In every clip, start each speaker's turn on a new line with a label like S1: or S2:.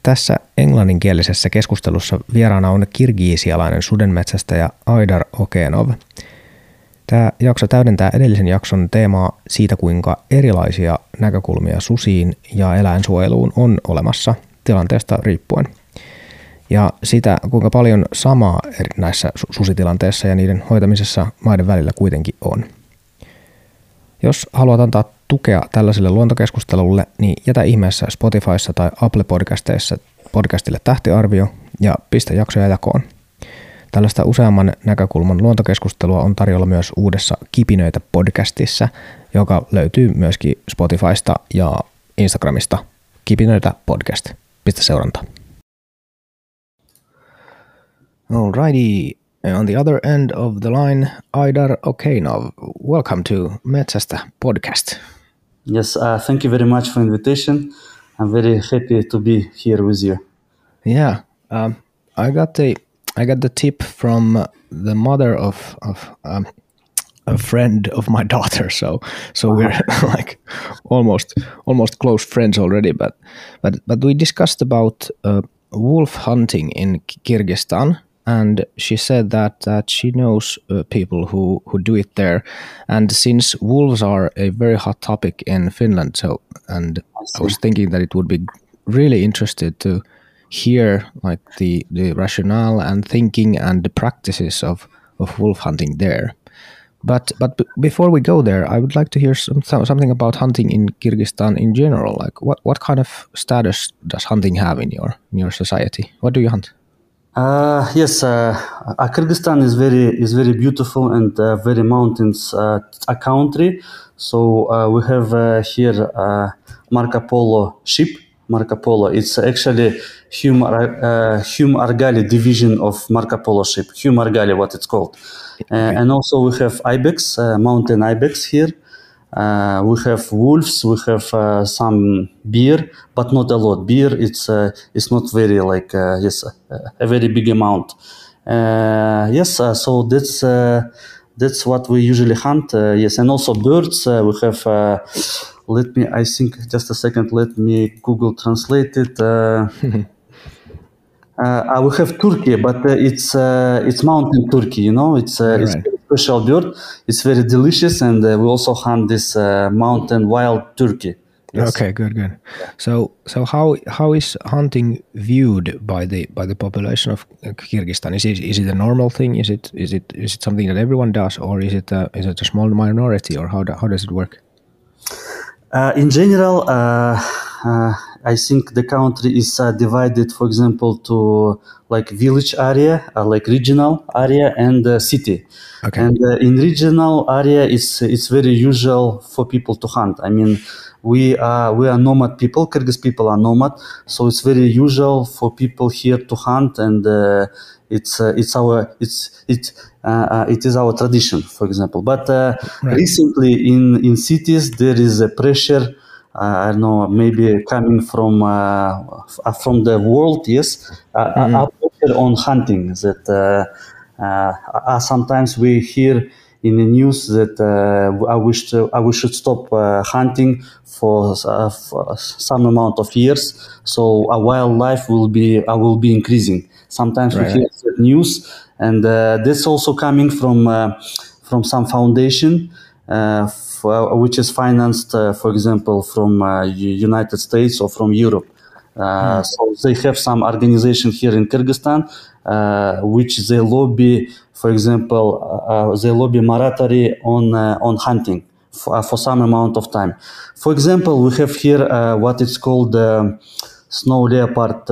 S1: Tässä englanninkielisessä keskustelussa vieraana on kirgiisialainen sudenmetsästäjä Aidar Okenov. Tämä jakso täydentää edellisen jakson teemaa siitä, kuinka erilaisia näkökulmia susiin ja eläinsuojeluun on olemassa tilanteesta riippuen. Ja sitä, kuinka paljon samaa näissä susitilanteissa ja niiden hoitamisessa maiden välillä kuitenkin on. Jos haluat antaa tukea tällaiselle luontokeskustelulle, niin jätä ihmeessä Spotifyssa tai Apple podcastille tähtiarvio ja pistä jaksoja jakoon. Tällaista useamman näkökulman luontokeskustelua on tarjolla myös uudessa Kipinöitä podcastissa, joka löytyy myöskin Spotifysta ja Instagramista. Kipinöitä podcast. Pistä seurantaa. Alrighty. On the other end of the line, Aidar Okenov. Welcome to Metsästä podcast.
S2: Yes, thank you very much for the invitation. I'm very happy to be here with you.
S1: Yeah, I got the tip from the mother of a friend of my daughter, so we're like almost close friends already. But we discussed about wolf hunting in Kyrgyzstan. And she said that she knows people who do it there. And since wolves are a very hot topic in Finland, I was thinking that it would be really interested to hear like the rationale and thinking and the practices of wolf hunting there. But before we go there, I would like to hear something about hunting in Kyrgyzstan in general. Like what kind of status does hunting have in your society? What do you hunt?
S2: Yes, Kyrgyzstan is very beautiful and very mountains a country. So we have here Marco Polo ship. Marco Polo. It's actually Hume Argali division of Marco Polo ship. Hume Argali, what it's called. And also we have ibex, mountain ibex here. We have wolves, we have some bear, but not a lot. Bear, it's not very like a very big amount. So that's what we usually hunt. Yes, and also birds. We have. I think just a second. Let me Google translate it. We have turkey, but it's mountain turkey. You know, it's a special bird. It's very delicious, and we also hunt this mountain wild turkey.
S1: Yes. Okay, good. So how is hunting viewed by the population of Kyrgyzstan? Is it a normal thing? Is it something that everyone does, or is it a small minority, or how does it work?
S2: In general, I think the country is divided, for example, to like village area, like regional area, and city.
S1: Okay.
S2: And in regional area, it's very usual for people to hunt. I mean, we are nomad people. Kyrgyz people are nomad, so it's very usual for people here to hunt, and it is our tradition, for example. But recently in cities there is a pressure. I don't know, maybe coming from the world, yes, a pressure on hunting. That sometimes we hear in the news that we should stop hunting for some amount of years, so our wildlife will be increasing. Sometimes we hear that news, and this also coming from some foundation which is financed, for example, from United States or from Europe. So they have some organization here in Kyrgyzstan which they lobby, for example, they lobby moratory on hunting for some amount of time. For example, we have here what is called Snow Leopard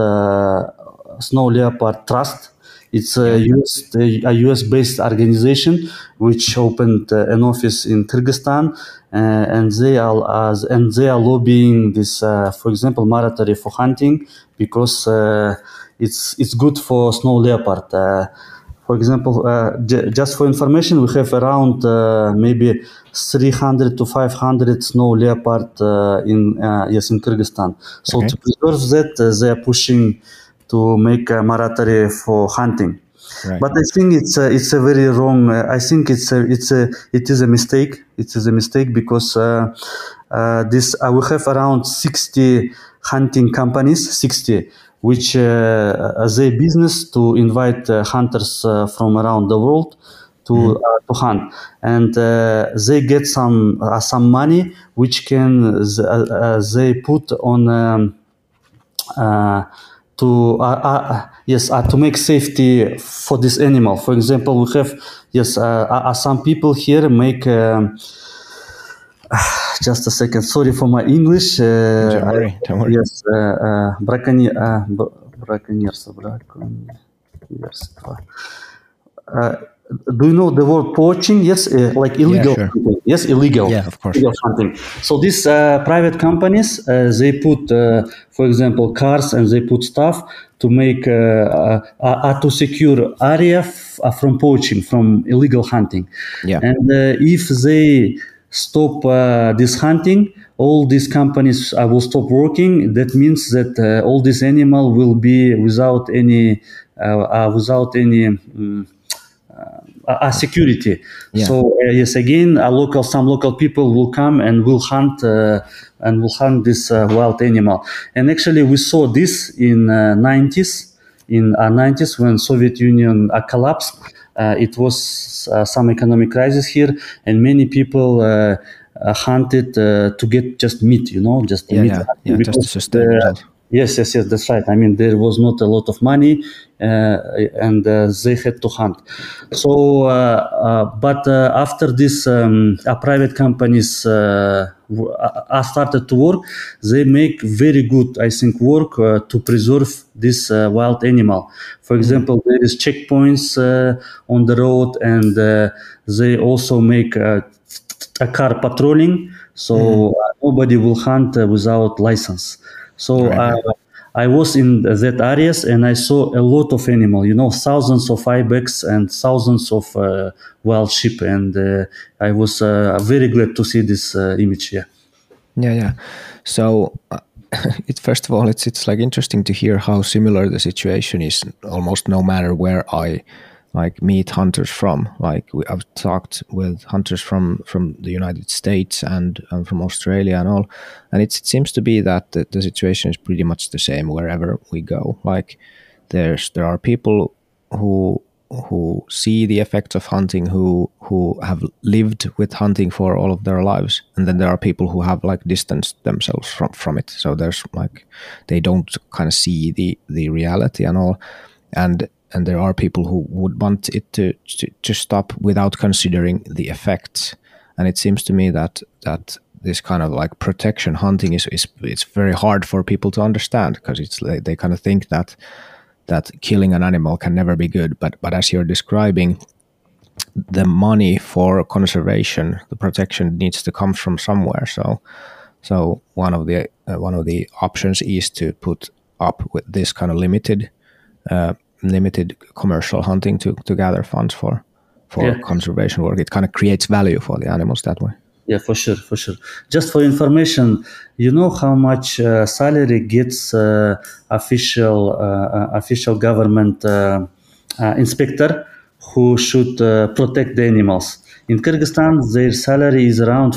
S2: Trust. It's a US-based organization which opened an office in Kyrgyzstan, and they are lobbying this, for example, moratory for hunting because it's good for snow leopard. For example, just for information, we have around maybe 300 to 500 snow leopard in Kyrgyzstan. So to preserve that, they are pushing to make a moratory for hunting.
S1: Right.
S2: But I think it's a very wrong. I think it is a mistake. It is a mistake because we have around 60 hunting companies, 60 which their business to invite hunters from around the world to hunt, and they get some money which can they put on to make safety for this animal. For example, we have some people here make. Just a second. Sorry for my English.
S1: Don't worry.
S2: Yes, do you know the word poaching? Yes, like illegal.
S1: Yeah, sure.
S2: Hunting. Yes, illegal.
S1: Yeah, of course.
S2: Illegal hunting. So these private companies, they put, for example, cars, and they put stuff to make to secure area from poaching, from illegal hunting.
S1: Yeah.
S2: And if they stop this hunting, all these companies will stop working. That means that all this animal will be without any security.
S1: Yeah.
S2: So yes, again, some local people will come and will hunt this wild animal. And actually, we saw this in 90s. In 90s, when Soviet Union collapsed, it was some economic crisis here, and many people hunted to get just meat, meat.
S1: Just to sustain themselves.
S2: Yes, that's right. I mean, there was not a lot of money, and they had to hunt. So, but after this, private companies started to work. They make very good, I think, work to preserve this wild animal. For example, there is checkpoints on the road, and they also make a car patrolling, so nobody will hunt without license. So I was in that areas, and I saw a lot of animal, thousands of ibex and thousands of wild sheep, and I was very glad to see this image here.
S1: Yeah. So first of all, it's like interesting to hear how similar the situation is almost no matter where I meet hunters from. I've talked with hunters from the United States and from Australia and all, and it seems to be that the situation is pretty much the same wherever we go. Like there are people who see the effects of hunting, who have lived with hunting for all of their lives, and then there are people who have distanced themselves from it. So there's they don't kind of see the reality and all, and there are people who would want it to stop without considering the effects. And it seems to me that this kind of protection hunting it's very hard for people to understand, because they kind of think that killing an animal can never be good. But as you're describing, the money for conservation, the protection needs to come from somewhere. So one of the options is to put up with this kind of limited commercial hunting to gather funds for conservation work. It kind of creates value for the animals that way.
S2: Yeah, for sure. Just for information, you know how much salary gets official government inspector who should protect the animals. In Kyrgyzstan, their salary is around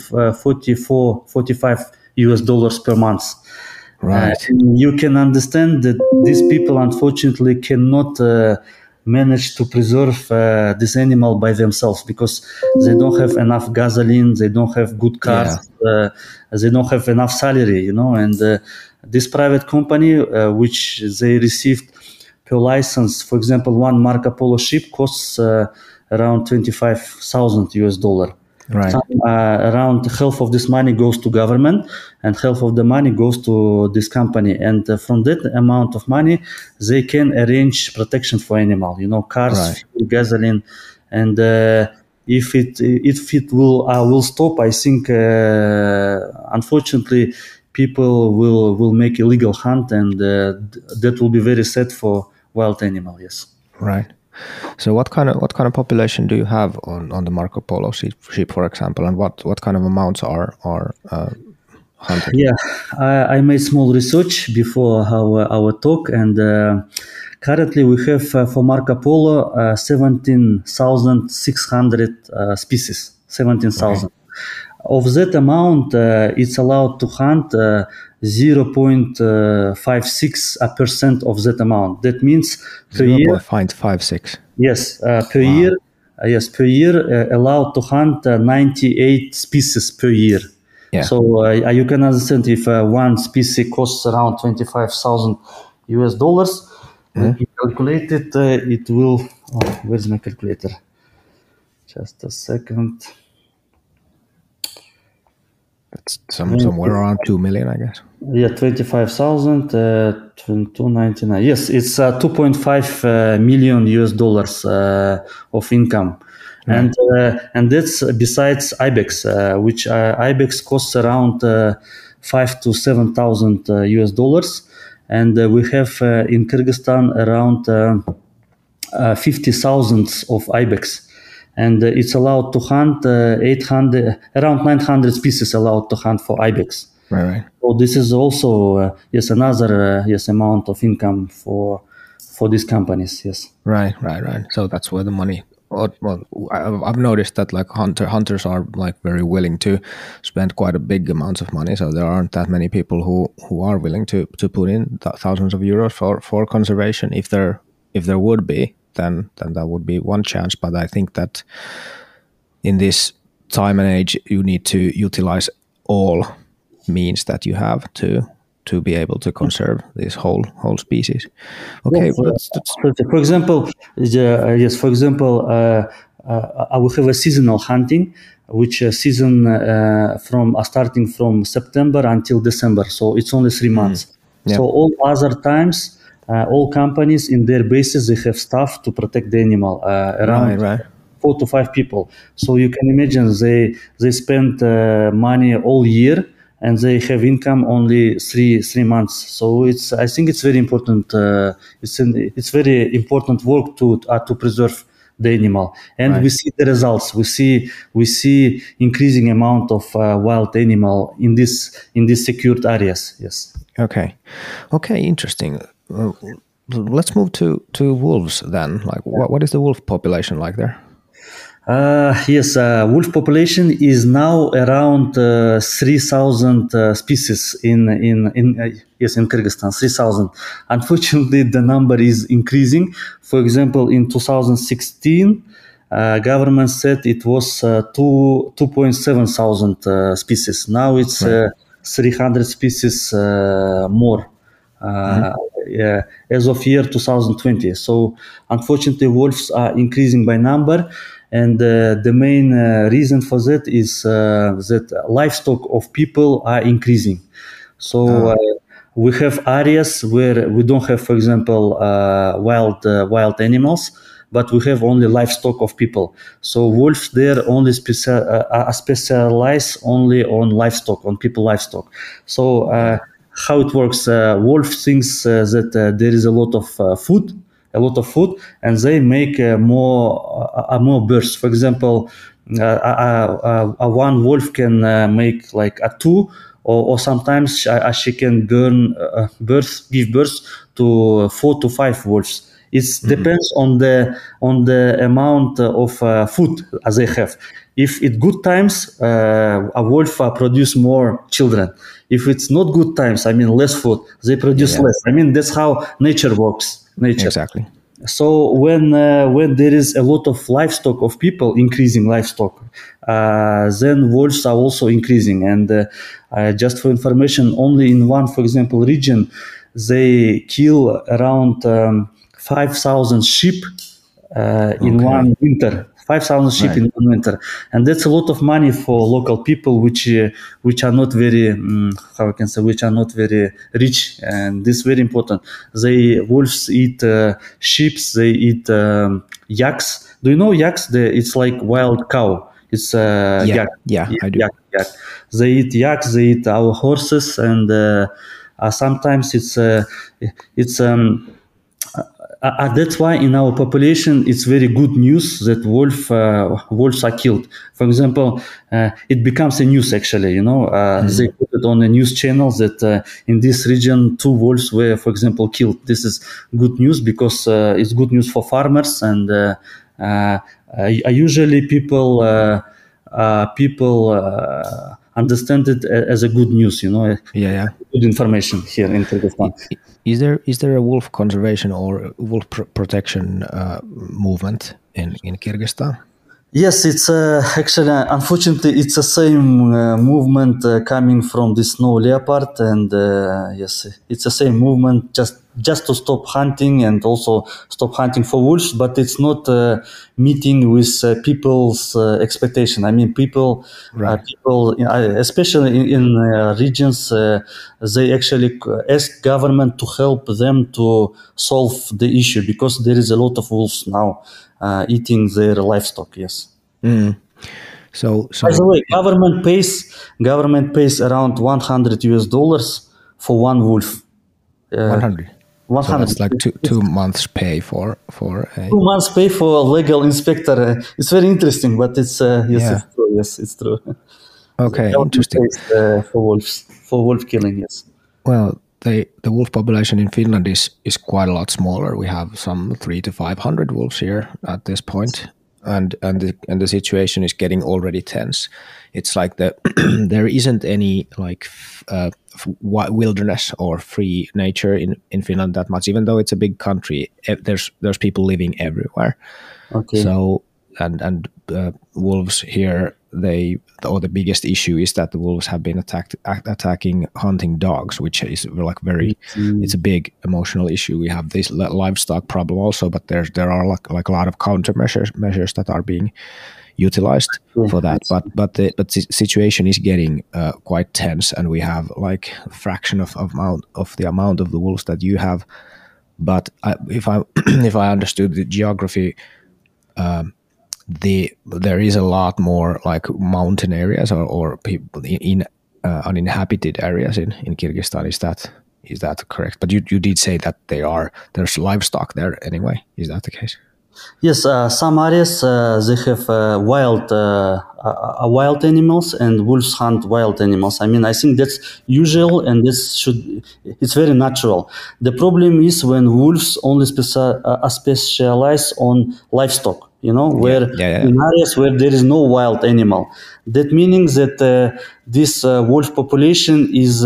S2: $45 US per month.
S1: Right.
S2: You can understand that these people unfortunately cannot manage to preserve this animal by themselves, because they don't have enough gasoline, they don't have good cars, they don't have enough salary, and this private company, which they received per license, for example, one Marco Polo ship costs around $25,000 US.
S1: Right.
S2: Around half of this money goes to government, and half of the money goes to this company. And from that amount of money, they can arrange protection for animal. Cars,
S1: right.
S2: Gasoline, and if it will stop, I think unfortunately people will make illegal hunt, and that will be very sad for wild animal. Yes.
S1: Right. So what kind of population do you have on the Marco Polo ship, for example, and what kind of amounts are hunted?
S2: Yeah, I made small research before our talk, and currently we have for Marco Polo 17,600 species. 17,000. of that amount, it's allowed to hunt 0.56% of that amount. That means per year.
S1: 0.556.
S2: Yes, per year. Yes, per year allowed to hunt 98 species per year.
S1: Yeah.
S2: So you can understand if one species costs around $25,000 US. Let me calculate it. It will. Oh, where's my calculator? Just a second.
S1: It's somewhere around 2 million, I guess.
S2: Yeah, 25,000, 299. Yes, it's 2.5 million US of income.
S1: Right.
S2: And that's besides ibex, which ibex costs around 5 to 7,000 US. And we have in Kyrgyzstan around 50,000 of ibex. And it's allowed to hunt around 900 species allowed to hunt for ibex.
S1: Right.
S2: So this is also another amount of income for these companies. Yes.
S1: Right. So that's where the money. Well, I've noticed that like hunters are like very willing to spend quite a big amounts of money. So there aren't that many people who are willing to put in thousands of euros for conservation. If there would be, then that would be one chance. But I think that in this time and age, you need to utilize all means that you have to be able to conserve this whole species. Okay,
S2: yes, for example, yes. For example, I will have a seasonal hunting, which season from starting from September until December. So it's only 3 months.
S1: Yeah.
S2: So all other times, all companies in their bases they have staff to protect the animal around.
S1: Right.
S2: 4 to 5 people. So you can imagine they spend money all year. And they have income only 3 months. So I think it's very important. It's very important work to preserve the animal, and we see the results. We see increasing amount of wild animal in these secured areas. Yes.
S1: Okay, interesting. Let's move to wolves then. Like, what is the wolf population like there?
S2: Yes, wolf population is now around 3,000 species in Kyrgyzstan. 3,000. Unfortunately, the number is increasing. For example, in 2016, government said it was 2.7 thousand species. Now it's 300 species more. As of year 2020. So unfortunately, wolves are increasing by number. And the main reason for that is that livestock of people are increasing. So we have areas where we don't have, for example, wild animals, but we have only livestock of people. So wolves there only specialize only on livestock, on people livestock. So how it works? Wolf thinks that there is a lot of food, and they make more birds. For example, one wolf can make like a 2, or sometimes she can give birth to 4 to 5 wolves. It depends on the amount of food as they have. If it's good times, a wolf produce more children. If it's not good times, I mean less food, they produce less. I mean that's how nature works.
S1: Exactly.
S2: So when there is a lot of livestock of people increasing livestock, then wolves are also increasing. And just for information, only in one, for example, region, they kill around 5,000 sheep in one winter. 5,000 sheep in one winter, and that's a lot of money for local people, which are not very which are not very rich, and this is very important. Wolves eat sheep, they eat yaks. Do you know yaks? It's like wild cow. It's yak.
S1: Yeah, I do.
S2: Yak. They eat yaks. They eat our horses, and sometimes that's why in our population it's very good news that wolves are killed. For example, it becomes a news actually. They put it on the news channels that in this region 2 wolves were, for example, killed. This is good news because it's good news for farmers, and usually people people understand it as a good news, good information here in Kyrgyzstan.
S1: Is there a wolf conservation or wolf protection movement in Kyrgyzstan?
S2: Yes, it's actually, unfortunately, it's the same movement coming from the snow leopard, and yes, it's the same movement just to stop hunting and also stop hunting for wolves, but it's not meeting with people's expectation. I mean, people, especially in regions, they actually ask government to help them to solve the issue because there is a lot of wolves now eating their livestock. Yes.
S1: So
S2: by the way, government pays around $100 for one wolf.
S1: 100. So that's like two months pay for a
S2: 2 months pay for a legal inspector. It's very interesting, but it's it's true. Yes, it's true.
S1: Okay, interesting.
S2: For wolf killing, yes.
S1: Well, the wolf population in Finland is quite a lot smaller. We have some 300 to 500 wolves here at this point, and the situation is getting already tense. It's like there isn't any like wilderness or free nature in Finland that much, even though it's a big country. There's people living everywhere.
S2: Okay.
S1: So and wolves here, the biggest issue is that the wolves have been attacking hunting dogs, which is like it's a big emotional issue. We have this livestock problem also, but there are like a lot of countermeasures that are being utilized for that. But the situation is getting quite tense, and we have like a fraction of the amount of the wolves that you have. But if I understood the geography, there is a lot more like mountain areas or people in uninhabited areas in Kyrgyzstan. Is that correct? But you did say that there's livestock there anyway. Is that the case?
S2: Yes, some areas they have wild animals, and wolves hunt wild animals. I mean, I think that's usual, and it's very natural. The problem is when wolves only specialize on livestock. Where in areas where there is no wild animal. That means that this wolf population is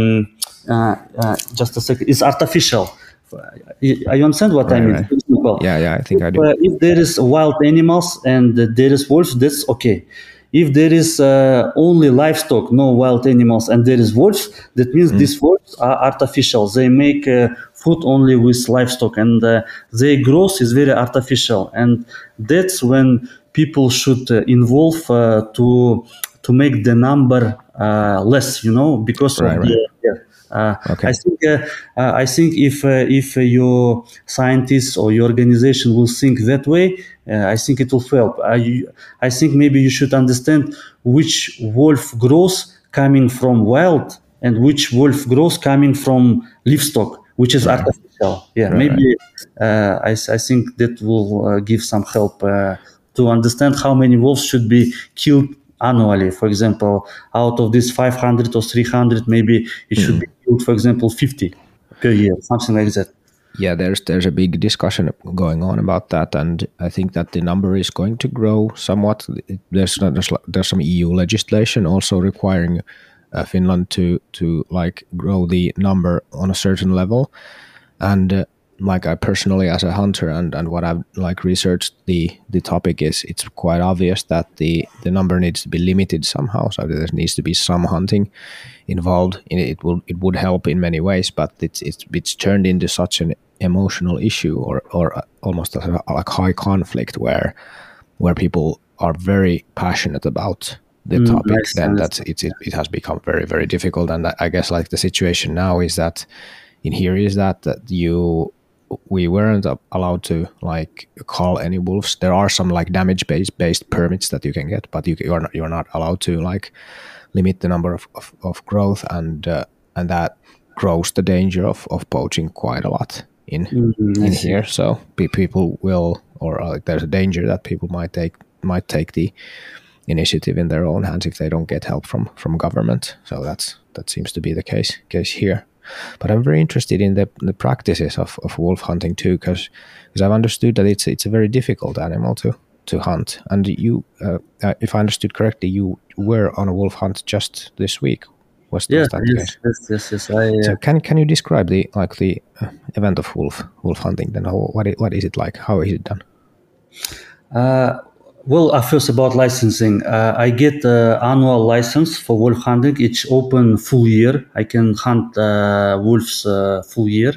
S2: just a second. Is artificial. I understand what I mean.
S1: Right. Yeah, I think I do.
S2: If there is wild animals and there is wolves, that's okay. If there is only livestock, no wild animals, and there is wolves, that means these wolves are artificial. They make food only with livestock, and their growth is very artificial. And that's when people should involve to make the number less, because of
S1: okay.
S2: I think if your scientists or your organization will think that way, I think it will help. I think maybe you should understand which wolf grows coming from wild and which wolf grows coming from livestock, which is artificial. Yeah, maybe I think that will give some help to understand how many wolves should be killed annually. For example, out of this 500 or 300, maybe it should be killed, for example, 50 per year, something like that.
S1: Yeah, there's a big discussion going on about that, and I think that the number is going to grow somewhat. There's some EU legislation also requiring Finland to like grow the number on a certain level, and like I personally as a hunter and what I've like researched the topic is, it's quite obvious that the number needs to be limited somehow. So there needs to be some hunting involved in it. It would help in many ways, but it's turned into such an emotional issue or almost like high conflict where people are very passionate about the topic. Then it has become very, very difficult. And I guess like the situation now is that we weren't allowed to like call any wolves. There are some like damage based permits that you can get, but you're not allowed to like limit the number of growth, and that grows the danger of poaching quite a lot in here. So people will, or there's a danger that people might take the initiative in their own hands if they don't get help from government. So that seems to be the case here. But I'm very interested in the practices of wolf hunting too, because I've understood that it's a very difficult animal to to hunt. And you, if I understood correctly, you were on a wolf hunt just this week. Was that the case?
S2: Yes.
S1: So can you describe the event of wolf hunting? Then what is it like? How is it done?
S2: Well, first about licensing, I get annual license for wolf hunting. It's open full year. I can hunt wolves full year.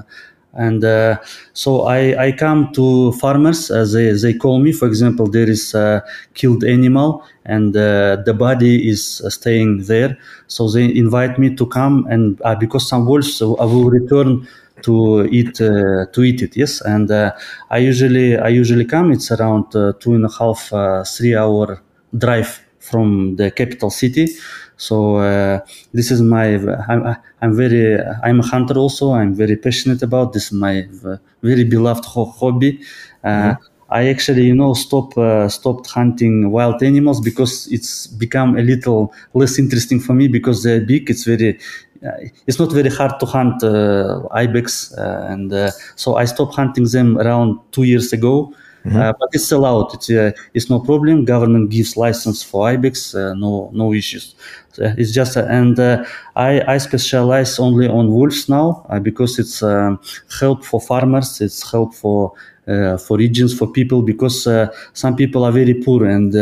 S2: So I come to farmers, they call me. For example, there is a killed animal and the body is staying there. So they invite me to come, and because some wolves, so I will return to eat it. Yes, and I usually come. It's around 2.5 3 hour drive from the capital city. So this is my. I'm a hunter also. I'm very passionate about this. My very beloved hobby. I actually, stopped hunting wild animals because it's become a little less interesting for me because they're big. It's not very hard to hunt ibex, so I stopped hunting them around 2 years ago. But it's allowed. It's no problem. Government gives license for ibex. No issues. It's just I specialize only on wolves now because it's help for farmers. It's help for regions, for people, because some people are very poor and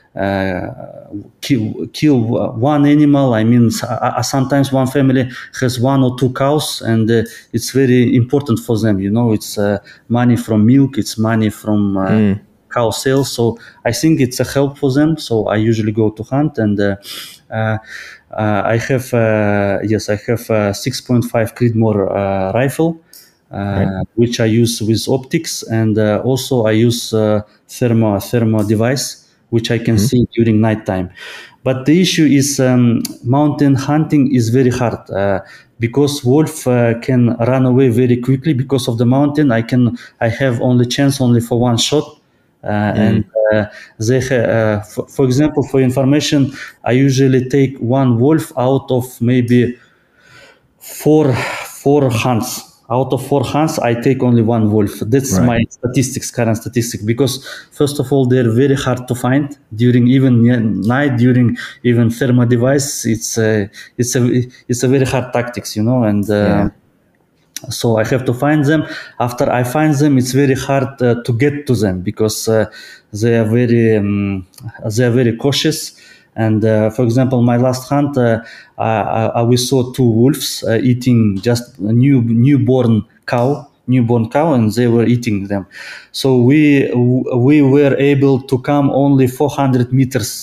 S2: kill one animal. I mean, sometimes one family has 1 or 2 cows, and it's very important for them. It's money from milk, it's money from cow sales. So I think it's a help for them. So I usually go to hunt, and I have 6.5 Creedmoor rifle. Which I use with optics, and also I use thermo device, which I can see during nighttime. But the issue is mountain hunting is very hard because wolf can run away very quickly because of the mountain. I have only chance only for one shot. And they for example, for information, I usually take one wolf out of maybe four hunts. Out of 4 hunts, I take only one wolf. That's my current statistics, because first of all, they're very hard to find during even night, during even thermal device. It's a very hard tactics, and so I have to find them. After I find them, it's very hard to get to them because they are very cautious. And for example, my last hunt, we saw 2 wolves eating just a newborn cow, and they were eating them. So we were able to come only 400 meters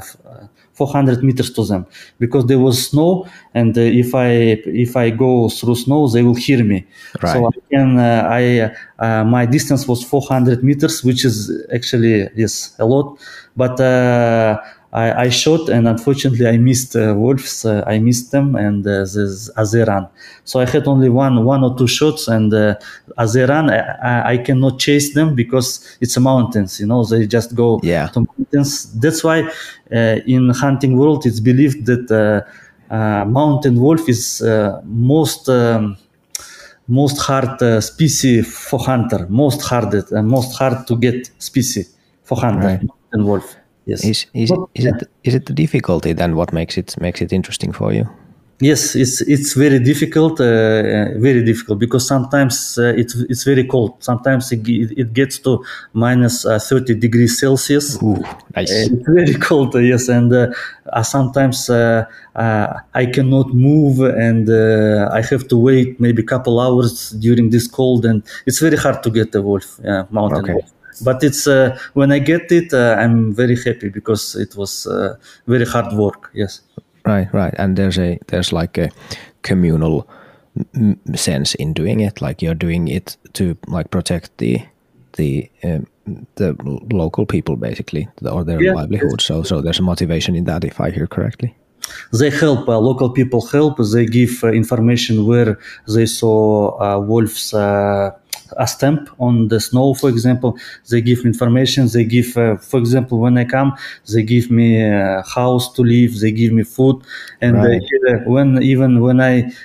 S2: to them because there was snow, and if I go through snow, they will hear me.
S1: Right.
S2: So my distance was 400 meters, which is actually a lot, but I shot, and unfortunately I missed wolves. I missed them, and as they ran. So I had only one or 2 shots, and as they ran, I cannot chase them because it's mountains. They just go to mountains. That's why in hunting world it's believed that mountain wolf is most hard species for hunter. Most hard to get species for hunter.
S1: Right.
S2: Mountain wolf. Yes.
S1: Is it the difficulty then what makes it interesting for you?
S2: Yes, it's very difficult because sometimes it's very cold. Sometimes it gets to minus 30 degrees Celsius.
S1: Ooh, nice.
S2: It's very cold, yes, and sometimes I cannot move, and I have to wait maybe a couple hours during this cold, and it's very hard to get a wolf, mountain wolf. But it's when I get it, I'm very happy because it was very hard work. Yes.
S1: Right. And there's like a communal sense in doing it. Like you're doing it to like protect the local people basically, or their livelihood. So there's a motivation in that, if I hear correctly.
S2: They help. Local people help. They give information where they saw wolves. A stamp on the snow, for example. They give information. They give, for example, when I come, they give me a house to live. They give me food, and when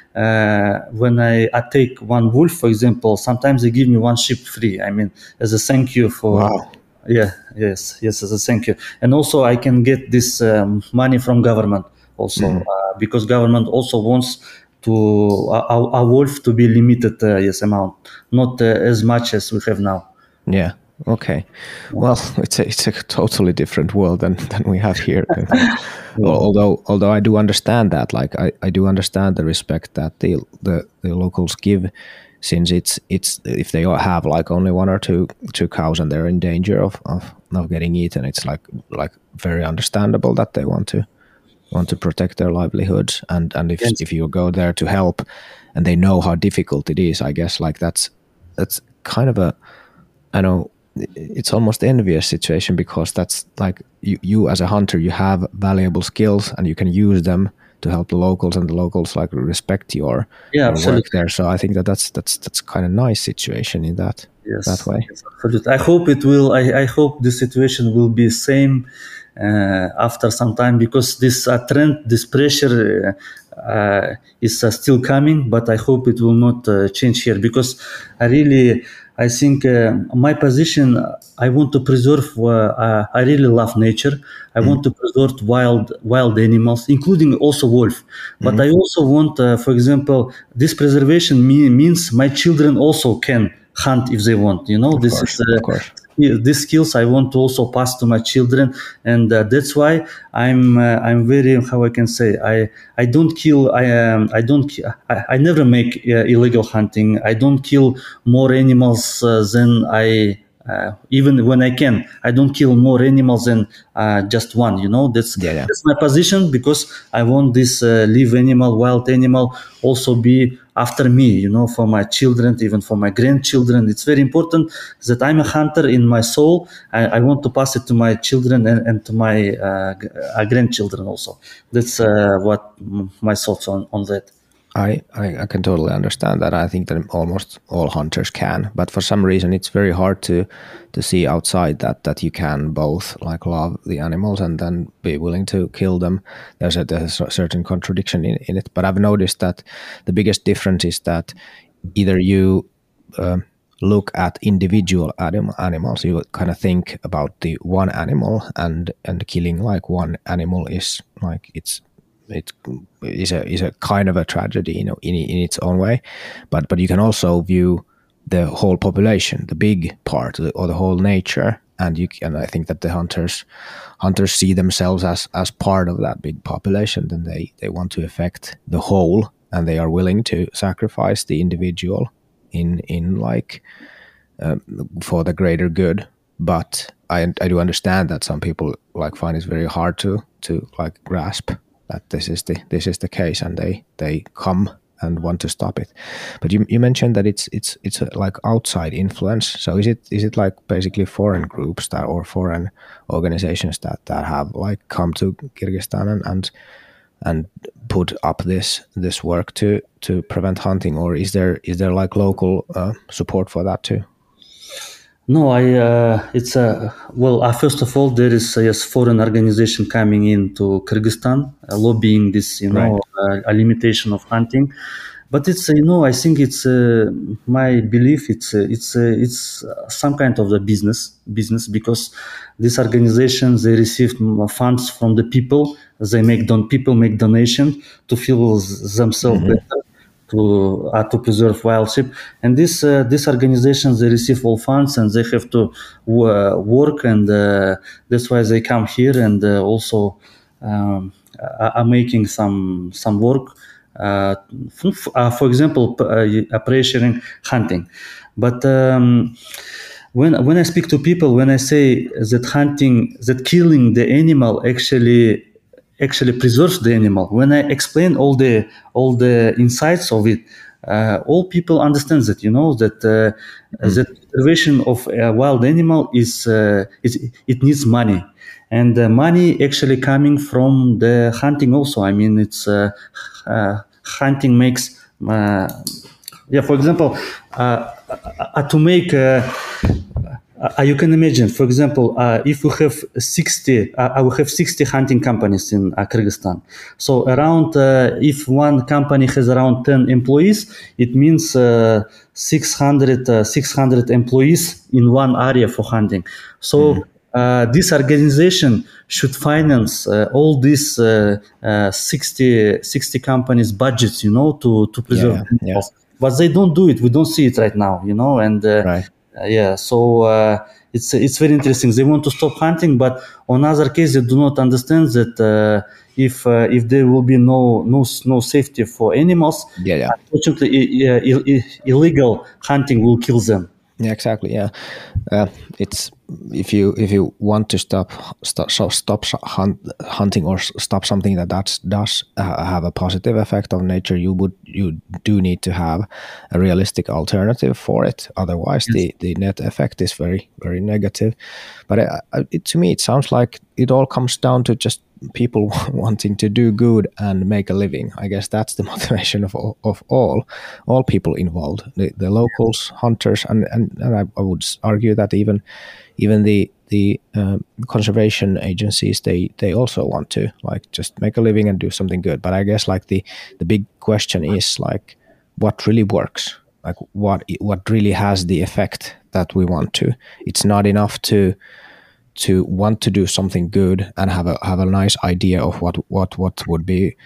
S2: I take one wolf, for example, sometimes they give me one sheep free. I mean, as a thank you for.
S1: Wow.
S2: Yes. Thank you. And also, I can get this money from government also, because government also wants to a wolf to be limited, amount, not as much as we have now.
S1: Yeah. Okay. Well, it's a totally different world than we have here. Although I do understand that, like I do understand the respect that the locals give, since it's if they all have like only one or two cows and they're in danger of getting eaten, it's like very understandable that they want to protect their livelihoods, and if you go there to help and they know how difficult it is, I guess like that's kind of a, I know, it's almost envious situation, because that's like you as a hunter, you have valuable skills and you can use them to help the locals, and the locals like respect your work there. So I think that's kind of nice situation in that way.
S2: Yes, absolutely. I hope it will. I hope the situation will be same after some time, because this trend, this pressure is still coming. But I hope it will not change here, because I think my position, I want to preserve. I really love nature. I want to preserve wild animals, including also wolf. But I also want, for example, this preservation means my children also can hunt if they want.
S1: Of course.
S2: These skills I want to also pass to my children, and that's why I'm very, how I can say, I don't kill. I never make illegal hunting. I don't kill more animals than I. Even when I can, I don't kill more animals than just one. That's my position, because I want this live animal, wild animal, also be after me. For my children, even for my grandchildren. It's very important that I'm a hunter in my soul. I want to pass it to my children and to my grandchildren also. That's what my thoughts on that.
S1: I can totally understand that. I think that almost all hunters can, but for some reason it's very hard to see outside that you can both like love the animals and then be willing to kill them. There's a certain contradiction in it. But I've noticed that the biggest difference is that either you look at individual animals, you kind of think about the one animal, and killing like one animal is like it is a kind of a tragedy, in its own way, but you can also view the whole population, the big part, or the whole nature, and I think that the hunters see themselves as part of that big population. Then they want to affect the whole, and they are willing to sacrifice the individual in like for the greater good. But I do understand that some people like find it very hard to like grasp that this is the case, and they come and want to stop it. But you mentioned that it's like outside influence. So is it like basically foreign groups or foreign organizations that have like come to Kyrgyzstan and put up this work to prevent hunting, or is there like local support for that too?
S2: No, it's first of all, there is a foreign organization coming into Kyrgyzstan, lobbying this,
S1: Right.
S2: A limitation of hunting. But it's, I think it's my belief. It's some kind of the business, because these organizations, they receive funds from the people. People make donation to feel themselves better, to preserve wildlife, and these organizations, they receive all funds and they have to work, and that's why they come here and also are making some work. For example, pressuring hunting, but when I speak to people, when I say that killing the animal actually preserves the animal, when I explain all the insights of it, all people understand that, that the preservation of a wild animal it needs money, and the money actually coming from the hunting also. I mean, it's hunting makes for example, to make you can imagine, for example, if we have 60, I will have 60 hunting companies in Kyrgyzstan. So around, if one company has around 10 employees, it means 600 employees in one area for hunting. So this organization should finance all these 60 companies' budgets, to preserve animals. But they don't do it. We don't see it right now, and
S1: Right.
S2: So it's very interesting. They want to stop hunting, but on other case, they do not understand that if there will be no safety for animals, unfortunately, illegal hunting will kill them.
S1: Yeah, exactly. Yeah, it's if you want to stop hunting or stop something that does have a positive effect on nature, you do need to have a realistic alternative for it. Otherwise, the net effect is very, very negative. But to me, it sounds like it all comes down to just people wanting to do good and make a living. I guess that's the motivation of all people involved, the locals, hunters, and I would argue that even the conservation agencies, they also want to just make a living and do something good. But I guess the big question is what really works, what really has the effect that we want to. It's not enough to want to do something good and have a nice idea of what would be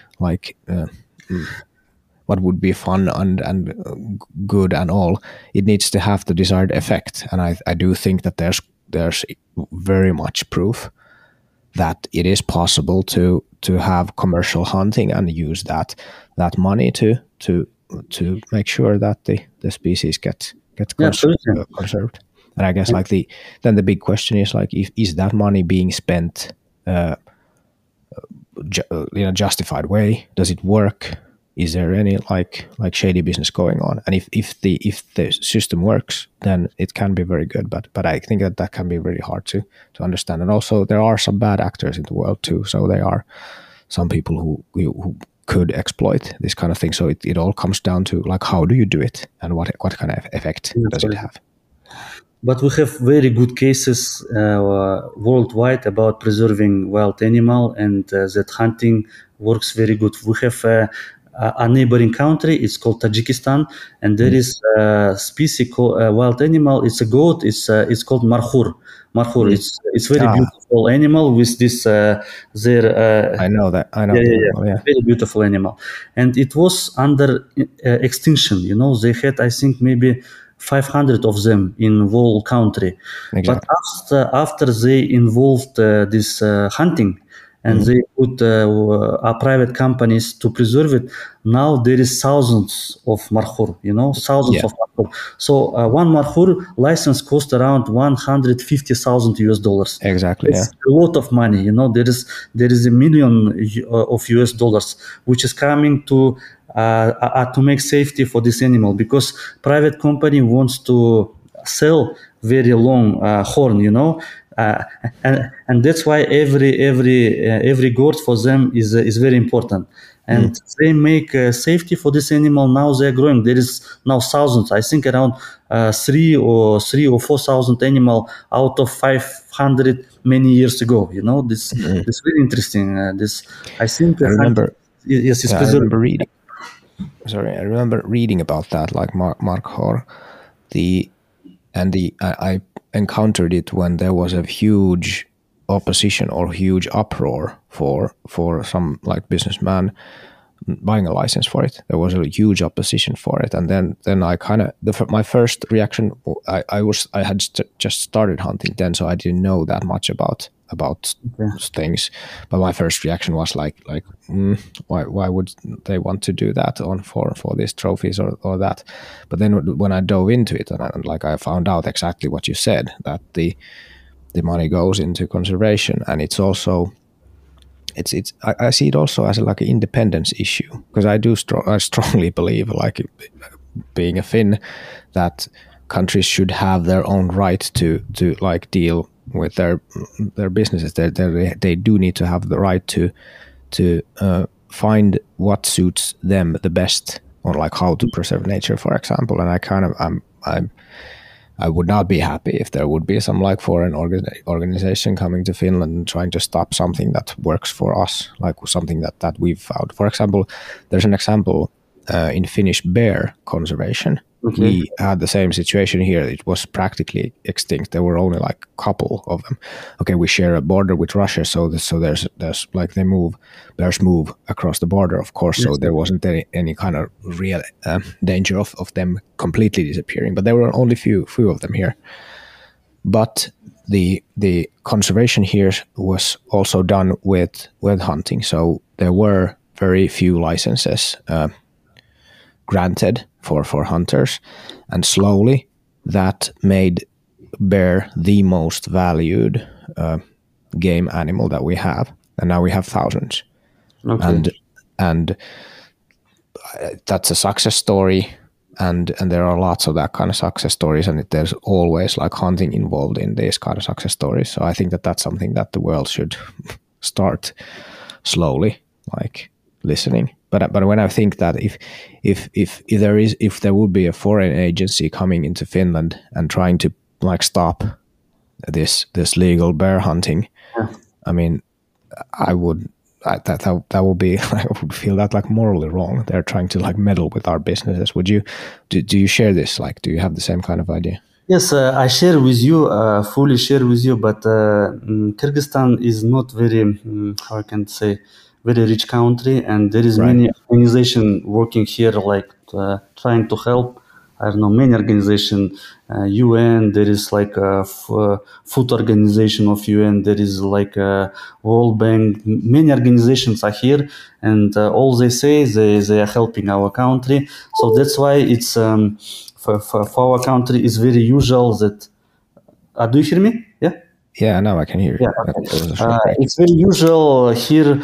S1: what would be fun and good and all. It needs to have the desired effect, and I do think that there's very much proof that it is possible to have commercial hunting and use that money to make sure that the species get conserved. And I guess then the big question is is that money being spent in a justified way? Does it work? Is there any shady business going on? And if the system works, then it can be very good. But I think that can be very hard to understand. And also there are some bad actors in the world too. So there are some people who could exploit this kind of thing. So it all comes down to how do you do it and what kind of effect does it have?
S2: But we have very good cases worldwide about preserving wild animal, and that hunting works very good. We have a neighboring country. It's called Tajikistan, and there is a species called wild animal. It's a goat. It's called markhur. Markhur. It's very beautiful animal with this. I
S1: know that. I know.
S2: Yeah. Very beautiful animal, and it was under extinction. They had, I think, maybe 500 of them in whole country. Exactly. But after they involved this hunting and they put private companies to preserve it, now there is thousands of markhur, thousands of markhur. So one markhur license cost around $150,000.
S1: Exactly.
S2: It's a lot of money. There is $1 million of US, which is coming to make safety for this animal, because private company wants to sell very long horn, and that's why every gourd for them is very important. And they make safety for this animal. Now they're growing. There is now thousands. I think around 3,000 or 4,000 animal out of 500 many years ago. This is very interesting. I think
S1: I remember.
S2: Yes, it's
S1: I remember reading. Sorry, I remember reading about that, markhor. I encountered it when there was a huge opposition or huge uproar for some businessman buying a license for it. There was a huge opposition for it, and then I kind of my first reaction, I had just started hunting then, so I didn't know that much about things. But my first reaction was why would they want to do that for these trophies or that? But then when I dove into it and I found out exactly what you said, that the money goes into conservation, and it's also I see it also as an independence issue, because I strongly believe, being a Finn, that countries should have their own right to deal with their businesses. They do need to have the right to find what suits them the best, or how to preserve nature, for example. And I would not be happy if there would be some like foreign organization coming to Finland and trying to stop something that works for us, like something that we've found. For example, there's an example in Finnish bear conservation.
S2: Okay.
S1: We had the same situation here. It was practically extinct. There were only like a couple of them. Okay, we share a border with Russia, so there's like bears move across the border, of course. So there wasn't any kind of real danger of them completely disappearing. But there were only few of them here. But the conservation here was also done with hunting. So there were very few licenses granted for hunters, and slowly that made bear the most valued game animal that we have, and now we have thousands.
S2: Okay.
S1: And that's a success story, and there are lots of that kind of success stories, and there's always like hunting involved in these kind of success stories. So I think that's something that the world should start slowly like listening. But when I think that if there would be a foreign agency coming into Finland and trying to like stop this legal bear hunting, I mean, that would be, I would feel that like morally wrong. They're trying to like meddle with our businesses. Would you do you share this? Like, do you have the same kind of idea?
S2: Yes, I share with you, fully share with you. But Kyrgyzstan is not very, how I can say, very rich country, and there is many organization working here, like trying to help. I don't know, many organization, UN. There is like a food organization of UN. There is like a World Bank. Many organizations are here, and all they say they are helping our country. So that's why it's for our country it's very usual that. Do you hear me? Yeah.
S1: Yeah, now I can hear you.
S2: Yeah, okay. It's very usual here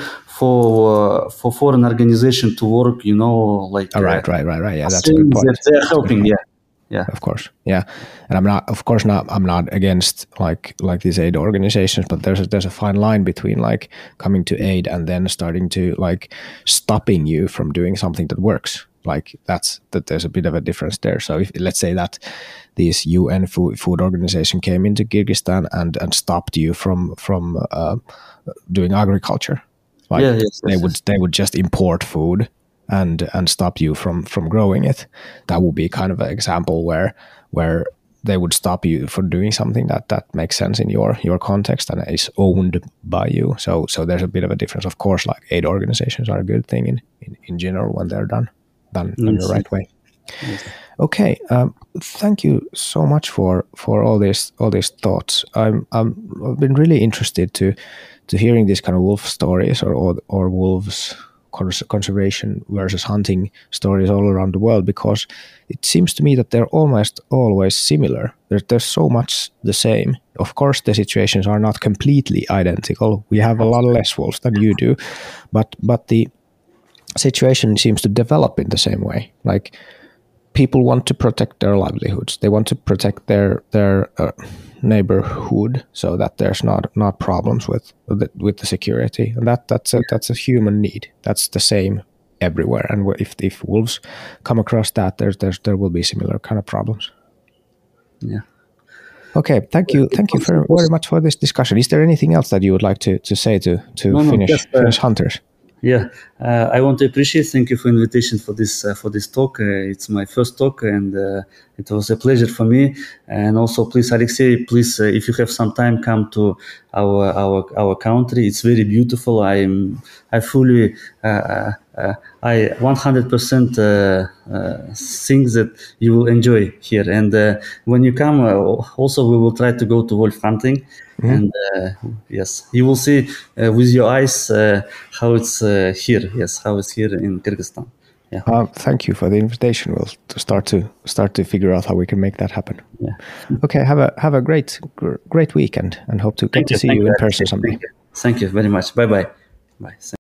S2: for foreign organization to work, like
S1: right. Yeah, that's a good point.
S2: They're helping, yeah.
S1: Of course, yeah. And I'm not against like these aid organizations, but there's a fine line between like coming to aid and then starting to like stopping you from doing something that works. Like that there's a bit of a difference there. So if let's say that this UN food organization came into Kyrgyzstan and stopped you from doing agriculture, like they would just import food and stop you from growing it. That would be kind of an example where they would stop you for doing something that makes sense in your context and is owned by you. So there's a bit of a difference. Of course, like aid organizations are a good thing in general when they're done in the right way.
S2: Yes.
S1: Okay, thank you so much for all these thoughts. I've been really interested to hearing these kind of wolf stories or wolves conservation versus hunting stories all around the world, because it seems to me that they're almost always similar. There's so much the same. Of course, the situations are not completely identical. We have a lot less wolves than you do, but the situation seems to develop in the same way. Like, people want to protect their livelihoods. They want to protect their neighborhood so that there's not problems with the security, and that's a human need. That's the same everywhere. And if wolves come across that, there will be similar kind of problems.
S2: Yeah.
S1: Okay. Thank you very much for this discussion. Is there anything else that you would like to say to Finnish hunters?
S2: Yeah, I want to appreciate. Thank you for invitation for this talk. It's my first talk, and it was a pleasure for me. And also, please, Alexey, if you have some time, come to our country. It's very beautiful. I fully I 100% think that you will enjoy here. And when you come, also we will try to go to wolf hunting. Mm-hmm. And yes, you will see with your eyes how it's here. Yes, how it's here in Kyrgyzstan. Yeah.
S1: Thank you for the invitation. We'll start to figure out how we can make that happen.
S2: Yeah.
S1: Okay. Have a great weekend, and hope to get to see you in person someday.
S2: Thank you very much. Bye.